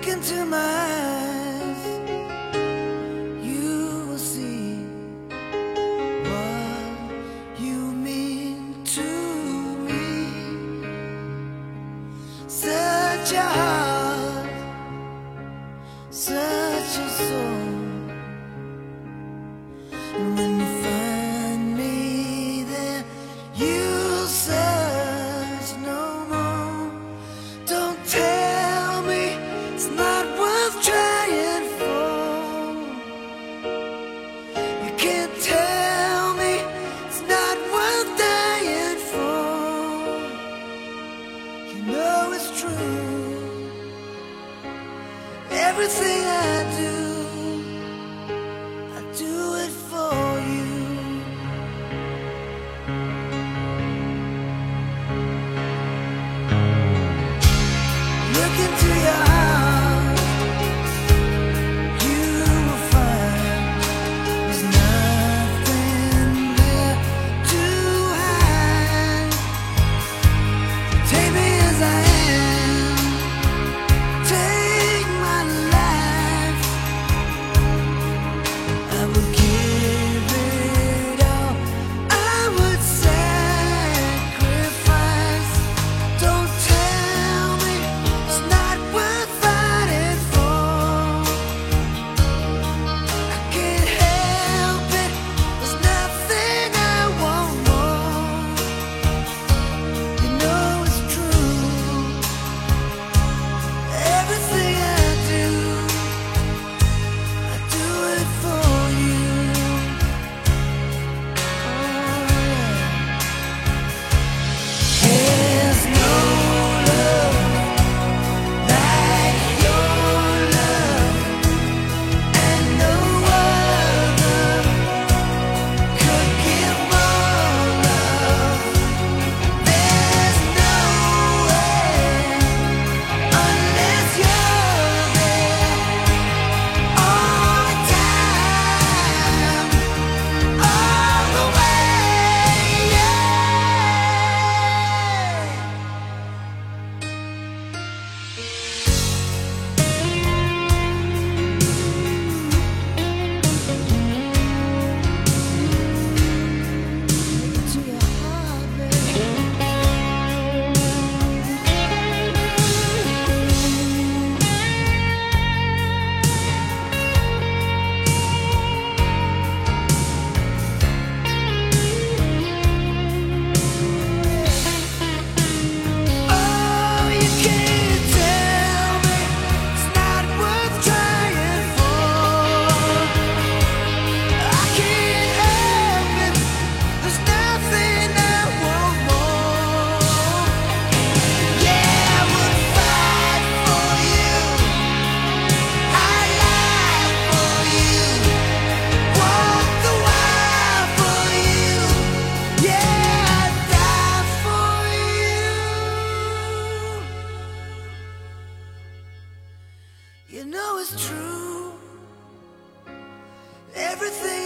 Look into my eyes, you will see what you mean to me. Such a heart, such a soul. And when you find me there, you'll search no more. Don't tell me it's not worth trying for. You can't tell me it's not worth dying for. You know it's true. Everything I do it for you. Look into your heart, you will find there's nothing there to hide. Take me as I am, take my life. I would give it all, I would sacrifice. Don't tell me it's not worth fighting for. I can't help it, there's nothing I want more. You know it's true. Everything I do it for you. There's no love like your love, and no other could give more love. There's no way unless you're there all the time, all the way, yeah. To your heart, baby. Oh, you can't tell me it's not worth trying for. I can't help it, there's nothing I want more. Yeah, I would fight for you, I'd lie for you, walk the wire for you. Yeah, I'd die for you. You know it's true. Everything